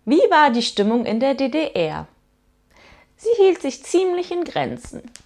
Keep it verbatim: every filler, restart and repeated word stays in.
Wie war die Stimmung in der D D R? Sie hielt sich ziemlich in Grenzen.